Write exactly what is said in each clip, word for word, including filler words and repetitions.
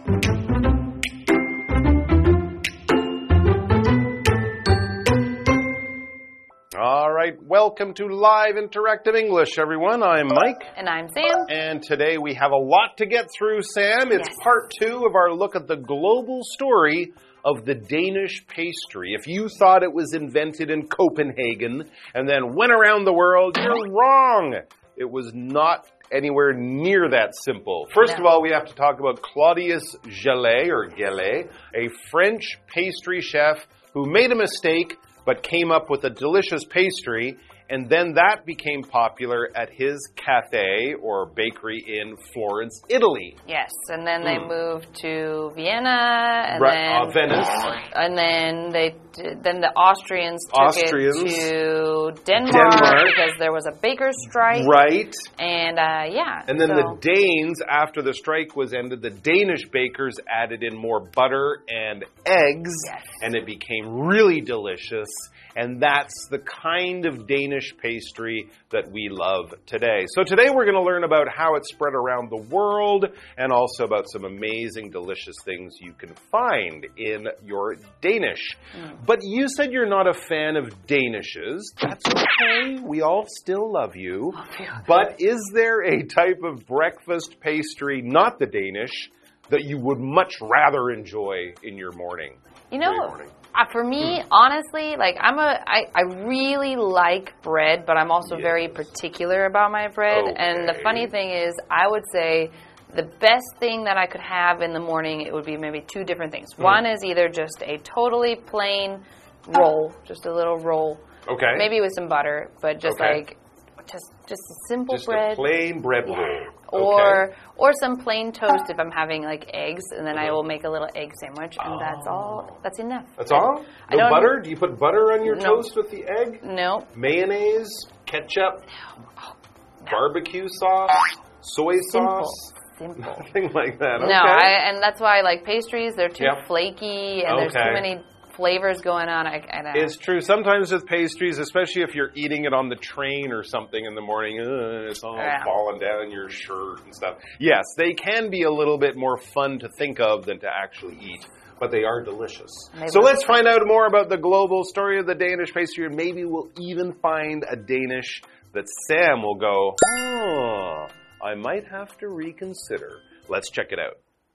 All right, welcome to Live Interactive English, everyone. I'm Mike. And I'm Sam. And today we have a lot to get through, Sam. It's yes. part two of our look at the global story of the Danish pastry. If you thought it was invented in Copenhagen and then went around the world, you're wrong. It was not anywhere near that simple. First no. of all, we have to talk about Claudius Gelée, or Gelée, a French pastry chef who made a mistake but came up with a delicious pastry, and then that became popular at his cafe or bakery in Florence, Italy. Yes, and then they mm. moved to Vienna, and right, then uh, Venice, and then they then the Austrians took Austrians, it to Denmark, Denmark because there was a baker's strike. Right, and uh, yeah, and then so. the Danes, after the strike was ended, the Danish bakers added in more butter and eggs, yes. and it became really delicious. And that's the kind of Danish pastry that we love today. So today we're going to learn about how it spread around the world and also about some amazing, delicious things you can find in your Danish. Mm. But you said you're not a fan of Danishes. That's okay. We all still love you. But is there a type of breakfast pastry, not the Danish, that you would much rather enjoy in your morning? You know, uh, for me, honestly, like I'm a, I, I really like bread, but I'm also yes. very particular about my bread. Okay. And the funny thing is, I would say the best thing that I could have in the morning, it would be maybe two different things. Mm. One is either just a totally plain roll, just a little roll. Okay. Maybe with some butter, but just okay. like, just just a simple just bread. Just a plain bread yeah. roll. Or okay. or some plain toast if I'm having like eggs, and then I will make a little egg sandwich, and oh. that's all. That's enough. That's all? No butter? Do you put butter on your no. toast with the egg? No. Mayonnaise, ketchup, no. Oh, no. barbecue sauce, soy Simple. sauce? Simple. Nothing like that. Okay. No, I, and that's why I like pastries. They're too yep. flaky, and okay. there's too many flavors going on. I, I don't know. It's true. Sometimes with pastries, especially if you're eating it on the train or something in the morning, uh, it's all yeah. falling down your shirt and stuff. Yes, they can be a little bit more fun to think of than to actually eat, but they are delicious. Maybe. So let's find out more about the global story of the Danish pastry, and maybe we'll even find a Danish that Sam will go, oh, I might have to reconsider. Let's check it out.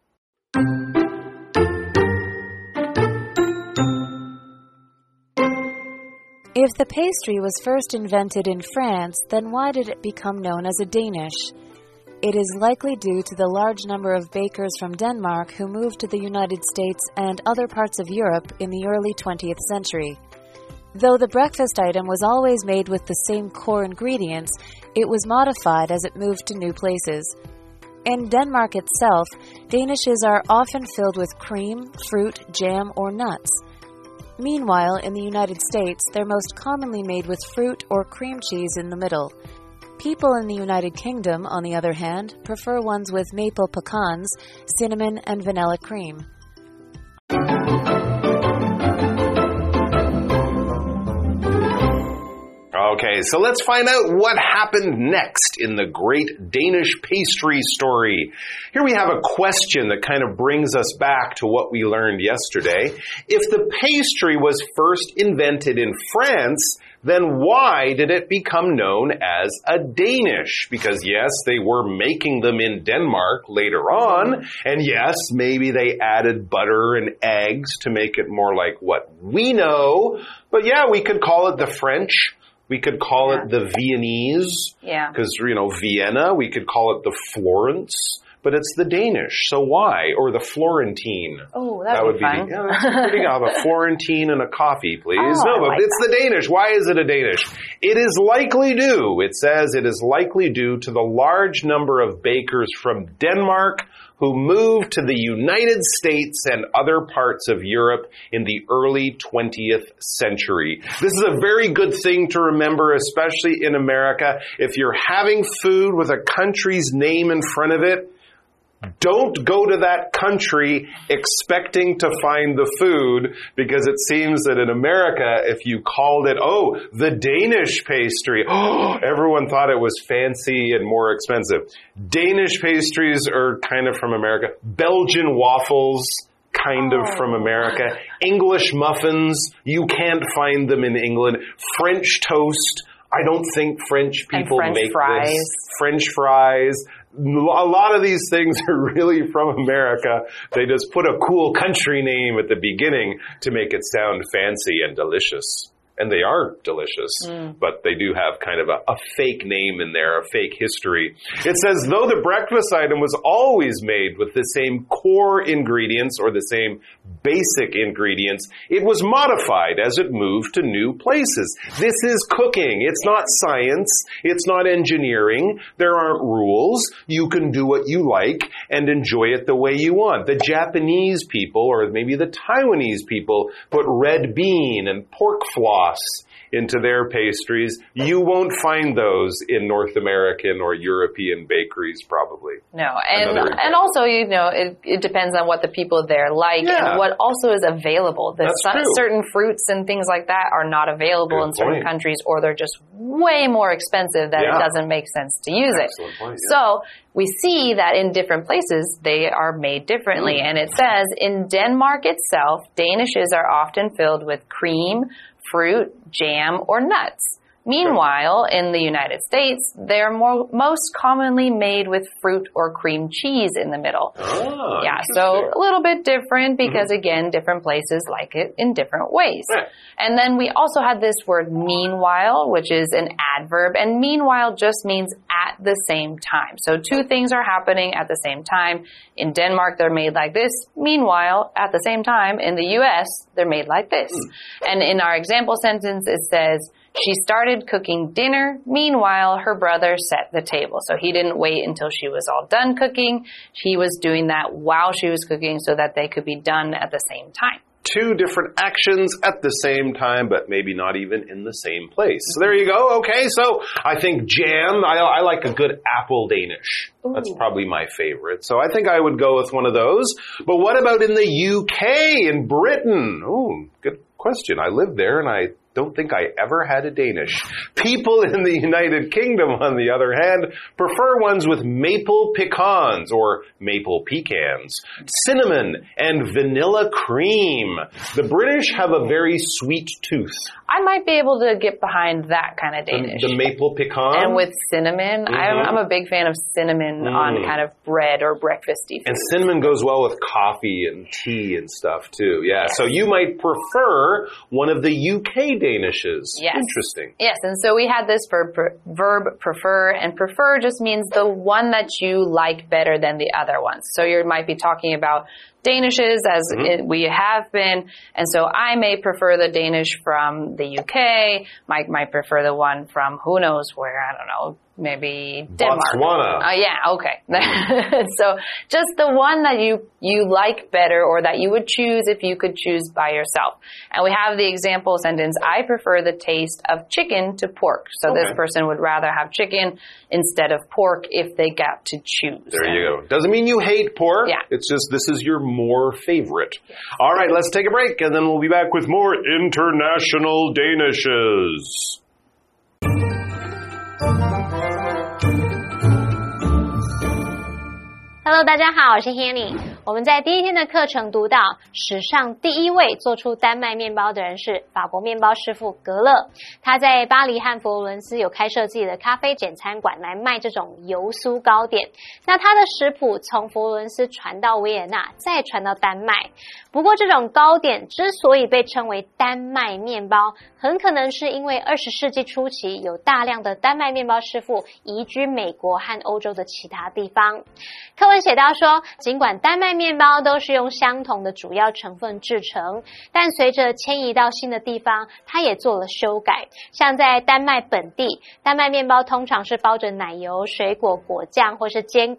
If the pastry was first invented in France, then why did it become known as a Danish? It is likely due to the large number of bakers from Denmark who moved to the United States and other parts of Europe in the early twentieth century. Though the breakfast item was always made with the same core ingredients, it was modified as it moved to new places. In Denmark itself, danishes are often filled with cream, fruit, jam, or nuts. Meanwhile, in the United States, they're most commonly made with fruit or cream cheese in the middle. People in the United Kingdom, on the other hand, prefer ones with maple pecans, cinnamon, and vanilla cream. Okay, so let's find out what happened next in the great Danish pastry story. Here we have a question that kind of brings us back to what we learned yesterday. If the pastry was first invented in France, then why did it become known as a Danish? Because yes, they were making them in Denmark later on, and yes, maybe they added butter and eggs to make it more like what we know, but yeah, we could call it the French. We could call yeah. it the Viennese, yeah. because, you know, Vienna. We could call it the Florence, but it's the Danish. So why? Or the Florentine. Oh, that would be be fun. The, yeah, that's pretty good. I'll have a Florentine and a coffee, please. Oh, no, but like it's that. the Danish. Why is it a Danish? It is likely due, it says it is likely due to the large number of bakers from Denmark who moved to the United States and other parts of Europe in the early twentieth century. This is a very good thing to remember, especially in America. If you're having food with a country's name in front of it, Don't go to that country expecting to find the food, because it seems that in America, if you called it, oh, the Danish pastry, oh, everyone thought it was fancy and more expensive. Danish pastries are kind of from America. Belgian waffles, kind of oh. from America. English muffins, you can't find them in England. French toast, I don't think French people and French make fries. this. French fries. A lot of these things are really from America. They just put a cool country name at the beginning to make it sound fancy and delicious. And they are delicious, mm. but they do have kind of a, a fake name in there, a fake history. It says, though the breakfast item was always made with the same core ingredients or the same basic ingredients, it was modified as it moved to new places. This is cooking. It's not science. It's not engineering. There aren't rules. You can do what you like and enjoy it the way you want. The Japanese people, or maybe the Taiwanese people, put red bean and pork floss into their pastries. You won't find those in North American or European bakeries, probably. No, and and also, you know, it, it depends on what the people there like yeah. and what also is available. There's some, certain fruits and things like that are not available Good in certain point. countries, or they're just way more expensive that yeah. it doesn't make sense to use Excellent it. Point, yeah. So we see that in different places, they are made differently. Mm. And it says, in Denmark itself, Danishes are often filled with cream, fruit, jam, or nuts. Meanwhile, in the United States, they're more, most commonly made with fruit or cream cheese in the middle. Oh, yeah, so a little bit different because, mm-hmm. again, different places like it in different ways. Right. And then we also had this word meanwhile, which is an adverb, and meanwhile just means at the same time. So two things are happening at the same time. In Denmark, they're made like this. Meanwhile, at the same time, in the U S, they're made like this. Mm. And in our example sentence, it says, she started cooking dinner. Meanwhile, her brother set the table. So he didn't wait until she was all done cooking. He was doing that while she was cooking so that they could be done at the same time. Two different actions at the same time, but maybe not even in the same place. So there you go. Okay, so I think jam, I, I like a good apple Danish. Ooh. That's probably my favorite. So I think I would go with one of those. But what about in the U K, in Britain? Oh, good question. I lived there and I don't think I ever had a Danish. People in the United Kingdom, on the other hand, prefer ones with maple pecans or maple pecans, cinnamon, and vanilla cream. The British have a very sweet tooth. I might be able to get behind that kind of Danish. The, the maple pecan? And with cinnamon. Mm-hmm. I'm, I'm a big fan of cinnamon mm. on kind of bread or breakfasty food. And cinnamon goes well with coffee and tea and stuff too. Yeah, yes. So you might prefer one of the U K Danishes. Yes. Interesting. Yes, and so we had this verb, verb prefer, and prefer just means the one that you like better than the other ones. So you might be talking about Danishes, as mm-hmm. it, we have been, and so I may prefer the Danish from the U K, Mike might prefer the one from who knows where, I don't know, maybe Denmark. Botswana. Oh, uh, yeah, okay. So just the one that you, you like better or that you would choose if you could choose by yourself. And we have the example sentence, I prefer the taste of chicken to pork. So okay. this person would rather have chicken instead of pork if they got to choose. There you go. Doesn't mean you hate pork. Yeah. It's just this is your more favorite. Yes. All right, let's take a break and then we'll be back with more International Danishes. Hello， 大家好，我是 Hanny。我们在第一天的課程讀到，史上第一位做出丹麥麵包的人是法國麵包師傅格勒。他在巴黎和佛羅倫斯有開設自己的咖啡簡餐館來賣這種油酥糕點。那他的食譜從佛羅倫斯傳到維也納，再傳到丹麥。不過這種糕點之所以被稱為丹麥麵包，很可能是因為二十世紀初期有大量的丹麥麵包師傅移居美國和歐洲的其他地方。課文寫到說，儘管丹麥麵包都是用相同的主要成分製成，但隨着遷移到新的地方，它也做了修改。像在丹麥本地，丹麥麵包通常是包着奶油、水果、果醬或是堅果。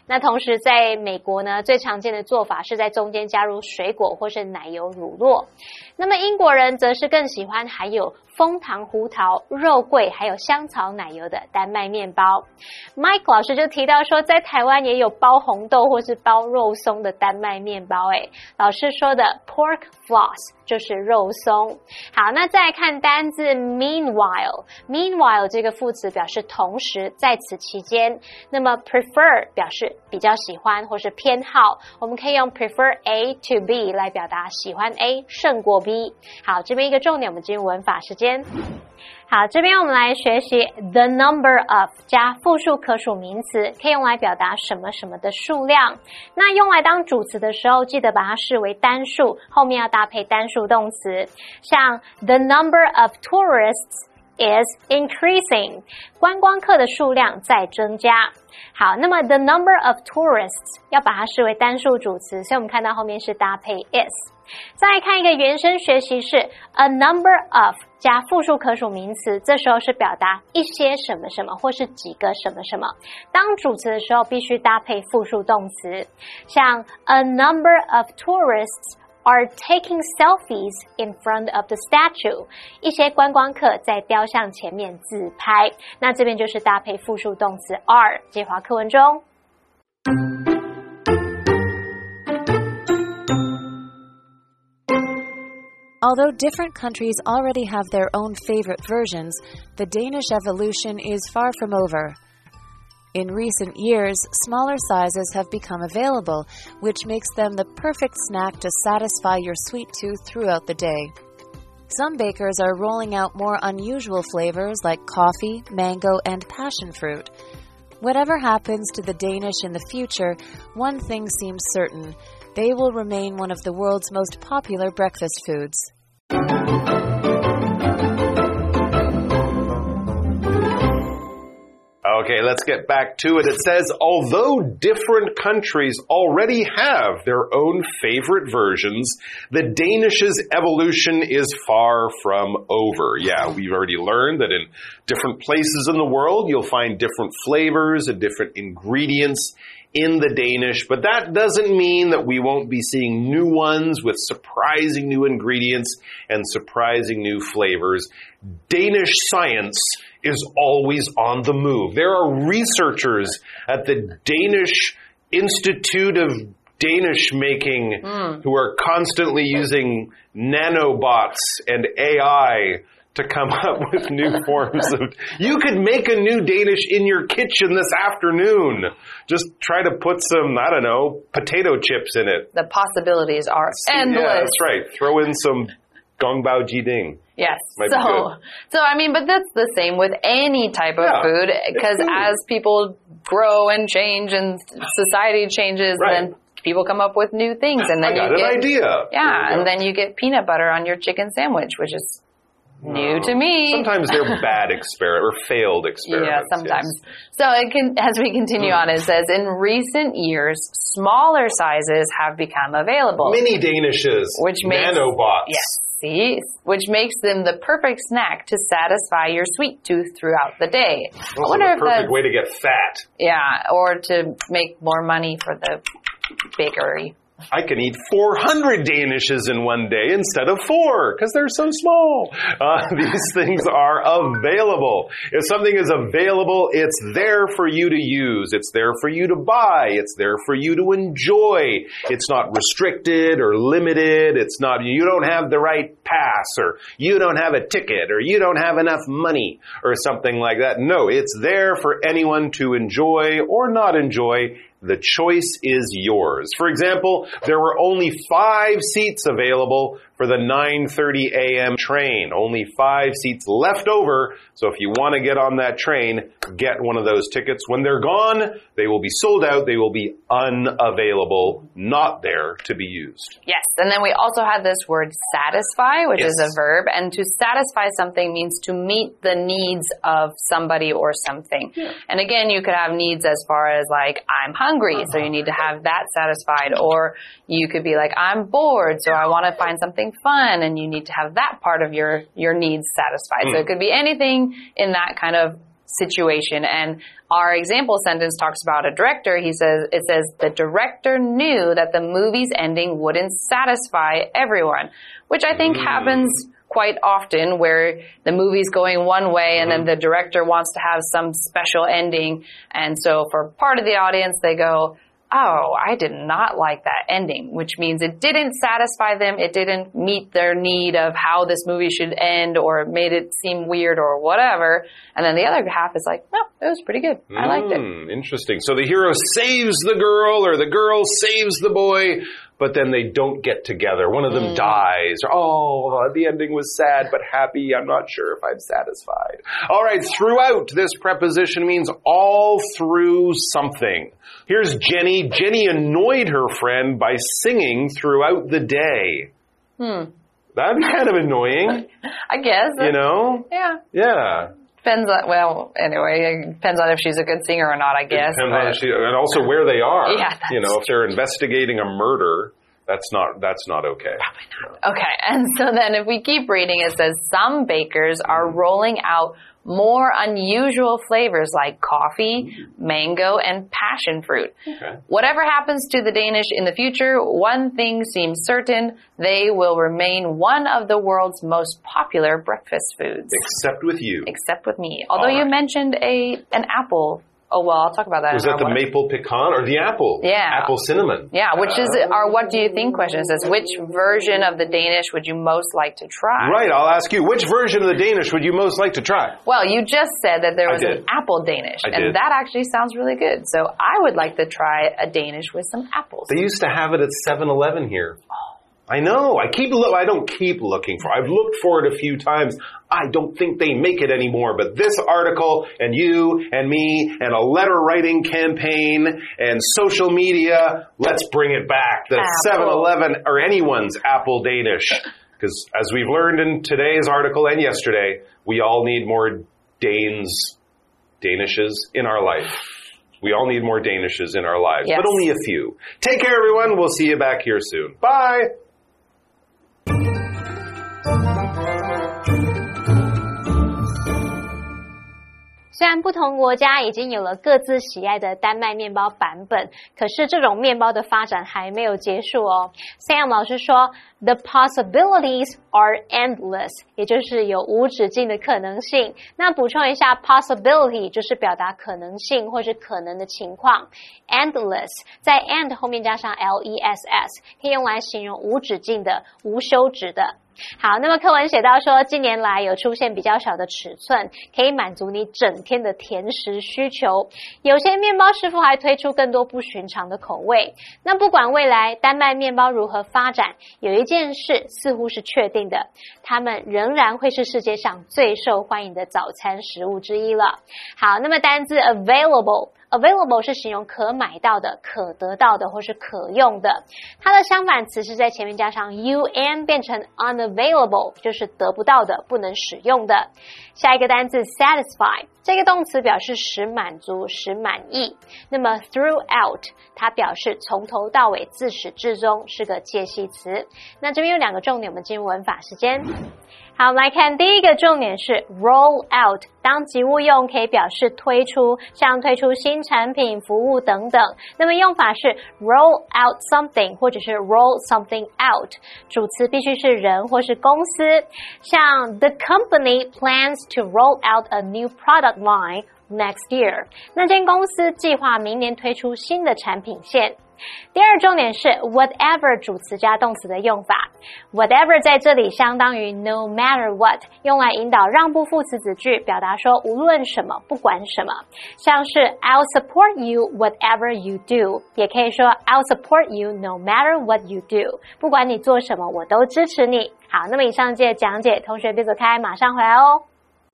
那同時在美國呢，最常見的做法是在中間加入水果或是奶油乳酪。那麼英國人則是更喜歡含有楓糖胡桃、肉桂還有香草奶油的丹麥麵包。Mike 老師就提到說，在台灣也有包紅豆或是包肉鬆的丹麥麵包。誒，老師說的 pork floss 就是肉鬆。好，那再來看單字 meanwhile。meanwhile 這個副詞表示同時，在此期間。那麼 prefer 表示比較喜歡或是偏好，我們可以用 prefer A to B 來表達喜歡 A 勝過 B。好，這邊一個重點，我們進入文法時間。好，這邊我們來學習 the number of 加複數可數名詞，可以用來表達什麼什麼的數量。那用來當主詞的時候，記得把它視為單數，後面要搭配單數動詞。像 the number of tourists is increasing， 觀光客的數量在增加。好，那麼 the number of tourists 要把它視為單數主詞，所以我們看到後面是搭配 is。再來看一個原生學習是 a number of 加複數可數名詞，這時候是表達一些什麼什麼或是幾個什麼什麼。當主詞的時候必須搭配複數動詞，像 a number of tourists are taking selfies in front of the statue， 一些觀光客在雕像前面自拍。那這邊就是搭配複數動詞 are， 接華課文中。 Although different countries already have their own favorite versions, the Danish evolution is far from over. In recent years, smaller sizes have become available, which makes them the perfect snack to satisfy your sweet tooth throughout the day. Some bakers are rolling out more unusual flavors like coffee, mango, and passion fruit. Whatever happens to the Danish in the future, one thing seems certain. They will remain one of the world's most popular breakfast foods. Okay, let's get back to it. It says, although different countries already have their own favorite versions, the Danish's evolution is far from over. Yeah, we've already learned that in different places in the world, you'll find different flavors and different ingredients in the Danish, but that doesn't mean that we won't be seeing new ones with surprising new ingredients and surprising new flavors. Danish science is always on the move. There are researchers at the Danish Institute of Danish Making mm. who are constantly using nanobots and A I to come up with new forms of... You could make a new Danish in your kitchen this afternoon. Just try to put some, I don't know, potato chips in it. The possibilities are endless. Yeah, that's right. Throw in some Gongbao Jiding. Yes. Might so, so I mean, but that's the same with any type of yeah, food, because as people grow and change and society changes, right. then people come up with new things, and then I got you an get idea. Yeah, and then you get peanut butter on your chicken sandwich, which is new to me. Sometimes they're bad experiments or failed experiments. Yeah, sometimes. Yes. So it can, as we continue on, it says, in recent years, smaller sizes have become available. Mini Danishes. Which makes, nanobots. Yes, see? Which makes them the perfect snack to satisfy your sweet tooth throughout the day. Also I wonder the perfect if that's, way to get fat. Yeah, or to make more money for the bakery. I can eat four hundred Danishes in one day instead of four because they're so small. Uh, these things are available. If something is available, it's there for you to use. It's there for you to buy. It's there for you to enjoy. It's not restricted or limited. It's not, you don't have the right pass, or you don't have a ticket, or you don't have enough money or something like that. No, it's there for anyone to enjoy or not enjoy. The choice is yours. For example, there were only five seats available for the nine thirty a m train. Only five seats left over. So if you want to get on that train, get one of those tickets. When they're gone, they will be sold out. They will be unavailable, not there to be used. Yes. And then we also had this word satisfy, which yes. is a verb. And to satisfy something means to meet the needs of somebody or something. Yeah. And again, you could have needs as far as like, I'm hungry, so you need to have that satisfied. Or you could be like, I'm bored, so I want to find something fun, and you need to have that part of your, your needs satisfied. Mm. So it could be anything in that kind of situation. And our example sentence talks about a director. He says, it says, the director knew that the movie's ending wouldn't satisfy everyone, which I think mm. happens quite often, where the movie's going one way and mm-hmm. then the director wants to have some special ending. And so for part of the audience, they go, oh, I did not like that ending, which means it didn't satisfy them. It didn't meet their need of how this movie should end, or it made it seem weird or whatever. And then the other half is like, no, it was pretty good. I liked it. Mm, interesting. So the hero saves the girl, or the girl saves the boy, but then they don't get together. One of them mm. dies. Oh, the ending was sad but happy. I'm not sure if I'm satisfied. All right, throughout, this preposition means all through something. Here's Jenny. Jenny annoyed her friend by singing throughout the day. Hmm. That'd be kind of annoying. I guess. You know? Yeah. Yeah. Depends on, well, anyway, it depends on if she's a good singer or not, I guess. It depends on if she, and also where they are. Yeah, you know, if they're investigating a murder, that's not, that's not okay. Probably not. Okay, and so then if we keep reading, it says some bakers are rolling out more unusual flavors like coffee, mango, and passion fruit. Okay. Whatever happens to the Danish in the future, one thing seems certain: they will remain one of the world's most popular breakfast foods. Except with you. Except with me. Although right. you mentioned a an apple. Oh, well, I'll talk about that. Was that the maple pecan or the apple? Yeah. Apple cinnamon. Yeah, which is our what do you think question. It says, which version of the Danish would you most like to try? Right, I'll ask you, which version of the Danish would you most like to try? Well, you just said that there was an apple Danish. I and did. that actually sounds really good. So I would like to try a Danish with some apples. They used to have it at seven eleven here. I know. I keep lo- I don't keep looking for it. I've looked for it a few times. I don't think they make it anymore. But this article and you and me and a letter writing campaign and social media, let's bring it back. The seven eleven or anyone's Apple Danish. Because as we've learned in today's article and yesterday, we all need more Danes, Danishes in our life. We all need more Danishes in our lives, yes. but only a few. Take care, everyone. We'll see you back here soon. Bye. 虽然不同国家已經有了各自喜愛的丹麥麵包版本，可是這種麵包的發展還沒有結束哦。Sam 老師說 ，The possibilities are endless， 也就是有無止境的可能性。那補充一下 ，possibility 就是表達可能性或是可能的情況 ，endless 在 and 後面加上 l e s s， 可以用來形容無止境的、無休止的。好，那麼課文寫到說，近年來有出現比較小的尺寸，可以滿足你整天的甜食需求。有些麵包師傅還推出更多不尋常的口味。那不管未來丹麥麵包如何發展，有一件事似乎是確定的，它們仍然會是世界上最受歡迎的早餐食物之一了。好，那麼單字 available。Available 是形容可買到的、可得到的或是可用的。它的相反詞是在前面加上 un 變成 unavailable， 就是得不到的、不能使用的。下一個單字 satisfy， 這個動詞表示使滿足、使滿意。那麼 throughout 它表示從頭到尾、自始至終，是個介系詞。那這邊有兩個重點，我們進入文法時間。好，我們來看第一個重點是 roll out， 當及物用可以表示推出，像推出新產品、服務等等。那麼用法是 roll out something 或者是 roll something out， 主詞必須是人或是公司，像 The company plans to roll out a new product line next year， 那間公司計劃明年推出新的產品線。第二重點是 whatever 主詞加動詞的用法 whatever 在這裡相當於 no matter what， 用來引導讓步副詞子句，表達說無論什麼不管什麼，像是 I'll support you whatever you do， 也可以說 I'll support you no matter what you do， 不管你做什麼我都支持你。好，那麼以上節講解，同學別走開，馬上回來哦。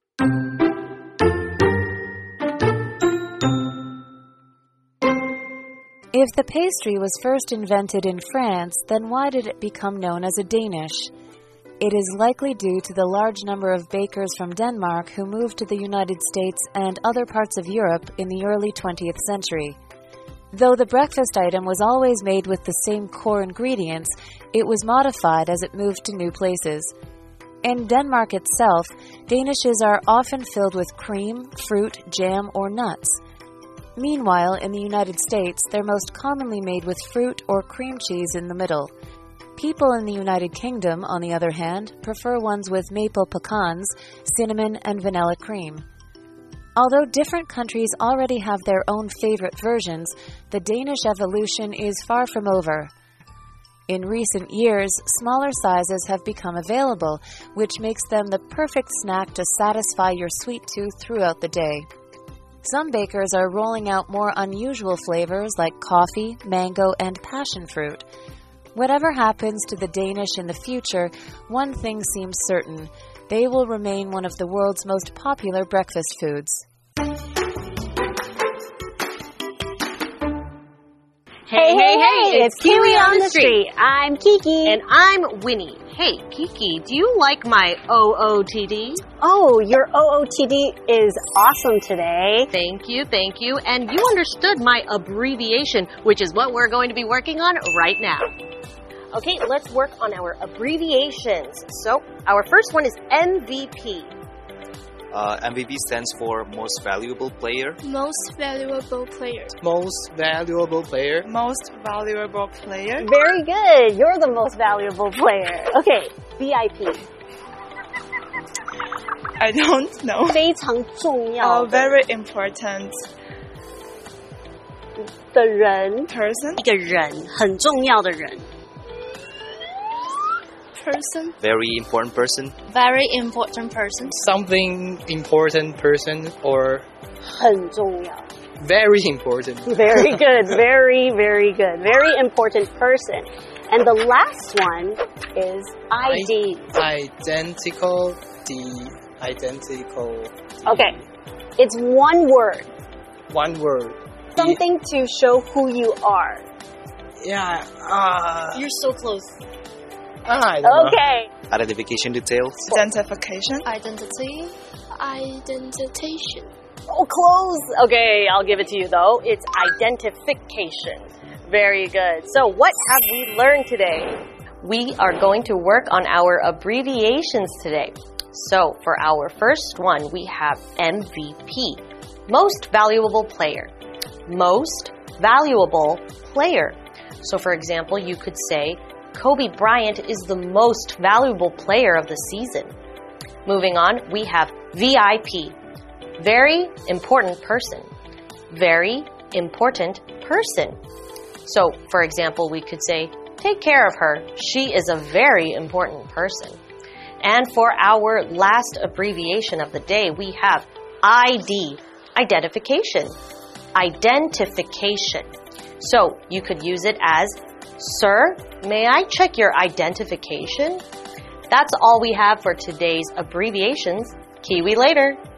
If the pastry was first invented in France, then why did it become known as a Danish? It is likely due to the large number of bakers from Denmark who moved to the United States and other parts of Europe in the early twentieth century. Though the breakfast item was always made with the same core ingredients, it was modified as it moved to new places. In Denmark itself, danishes are often filled with cream, fruit, jam, or nuts. Meanwhile, in the United States, they're most commonly made with fruit or cream cheese in the middle. People in the United Kingdom, on the other hand, prefer ones with maple pecans, cinnamon, and vanilla cream. Although different countries already have their own favorite versions, the Danish evolution is far from over. In recent years, smaller sizes have become available, which makes them the perfect snack to satisfy your sweet tooth throughout the day. Some bakers are rolling out more unusual flavors like coffee, mango, and passion fruit. Whatever happens to the Danish in the future, one thing seems certain: they will remain one of the world's most popular breakfast foods. Hey, hey, hey, it's Kiwi on the Street. I'm Kiki. And I'm Winnie. Hey, Kiki, do you like my O O T D? Oh, your O O T D is awesome today. Thank you, thank you. And you understood my abbreviation, which is what we're going to be working on right now. Okay, let's work on our abbreviations. So, our first one is M V P. Uh, M V P stands for Most Valuable Player. Most Valuable Player. Most Valuable Player. Most Valuable Player. Very good. You're the most valuable player. Okay, V I P. I don't know. 非常重要 Oh, very important. 的人 Person. 一个人，很重要的人。 Person. Very important person. Very important person. Something important person or 很重要 very important. Very good. Very, very good. Very important person. And the last one is I D. Identical. The identical. Okay. It's one word. One word. Something to show who you are. Yeah. Uh, You're so close. I don't know. Okay. Identification details. Identification. Identity. Identification. Oh, close. Okay, I'll give it to you though. It's identification. Very good. So what have we learned today? We are going to work on our abbreviations today. So, for our first one, we have M V P. Most Valuable Player. Most Valuable Player. So, for example, you could say, Kobe Bryant is the most valuable player of the season. Moving on, we have V I P. Very important person. Very important person. So, for example, we could say, take care of her. She is a very important person. And for our last abbreviation of the day, we have I D. Identification. Identification. So, you could use it as, Sir, may I check your identification? That's all we have for today's abbreviations. Kiwi later.